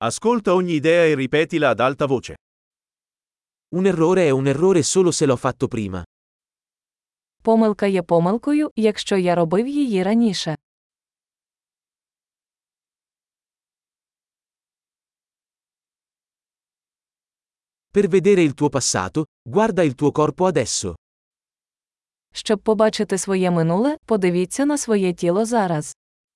Ascolta ogni idea e ripetila ad alta voce. Un errore è un errore solo se l'ho fatto prima. Помилка є помилкою, якщо я робив її раніше. Per vedere il tuo passato, guarda il tuo corpo adesso. Щоб побачити своє минуле, подивіться на своє тіло зараз.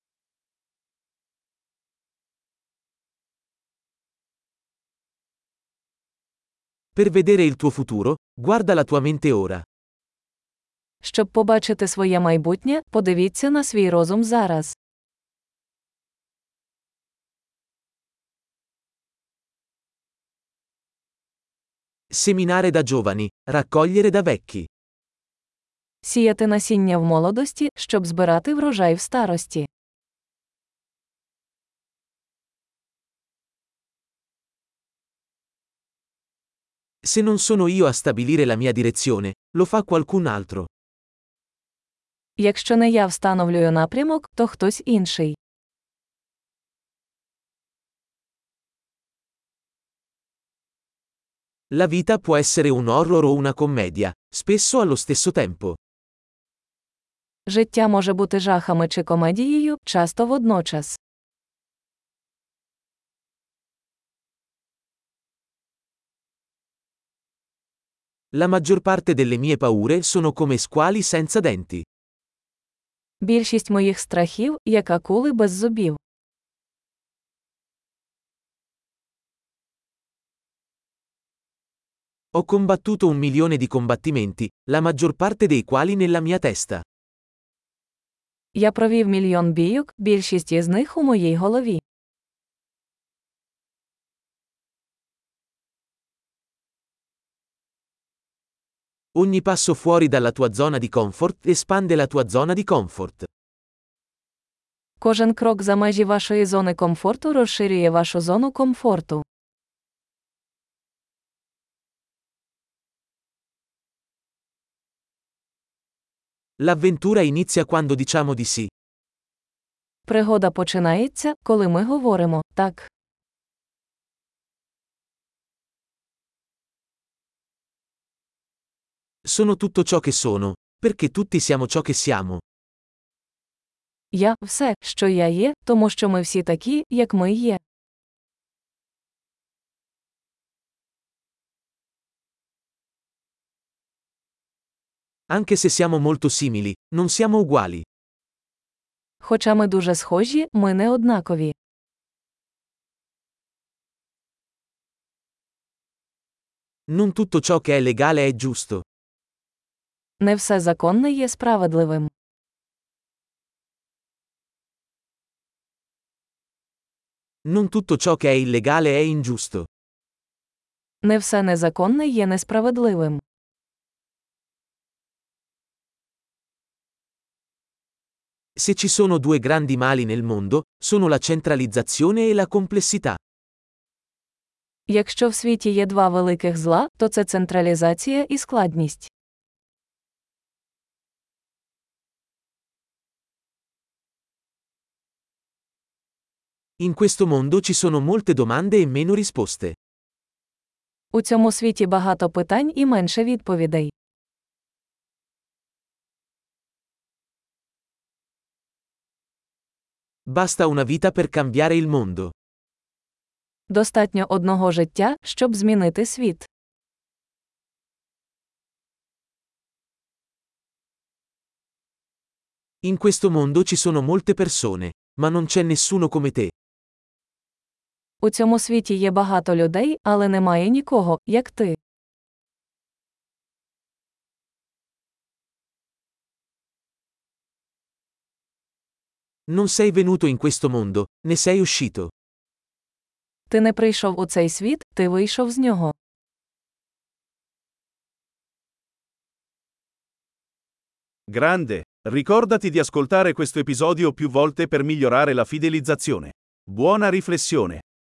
Per vedere il tuo futuro, guarda la tua mente ora. Щоб побачити своє майбутнє, подивіться на свій розум зараз. Seminare da giovani, raccogliere da vecchi. Сіяти насіння в молодості, щоб збирати врожай в старості. Se non sono io a stabilire la mia direzione, lo fa qualcun altro. Якщо не я встановлюю напрямок, то хтось інший. La vita può essere un horror o una commedia, spesso allo stesso tempo. Життя може бути жахами чи комедією, часто водночас. La maggior parte delle mie paure sono come squali senza denti. Більшість моїх страхів – як акули без зубів. Ho combattuto 1 milione di combattimenti, la maggior parte dei quali nella mia testa. Я провів мільйон бійок, більшість із них у моїй голові. Ogni passo fuori dalla tua zona di comfort espande la tua zona di comfort. Кожен крок за межі вашої зони комфорту розширює вашу зону комфорту. L'avventura inizia quando diciamo di sì. Пригода починається, коли ми говоримо «так». Sono tutto ciò che sono, perché tutti siamo ciò che siamo. Я – все, що я є, тому що ми всі такі, як ми є. Anche se siamo molto simili, non siamo uguali. Хоча ми дуже схожі, ми не однакові. Non tutto ciò che è legale è giusto. Не все законне є справедливим. Non tutto ciò che è illegale è ingiusto. Не все незаконне є несправедливим. Se ci sono due grandi mali nel mondo, sono la centralizzazione e la complessità. Якщо в світі є два великих зла, то це централізація і складність. In questo mondo ci sono molte domande e meno risposte. У цьому світі багато питань і менше відповідей. Basta una vita per cambiare il mondo. Достатньо одного життя, щоб змінити світ. In questo mondo ci sono molte persone, ma non c'è nessuno come te. У цьому світі є багато людей, але немає нікого, як ти. Non sei venuto in questo mondo, ne sei uscito. Ти не прийшов у цей світ, ти вийшов з нього. Grande, ricordati di ascoltare questo episodio più volte per migliorare la fidelizzazione. Buona riflessione!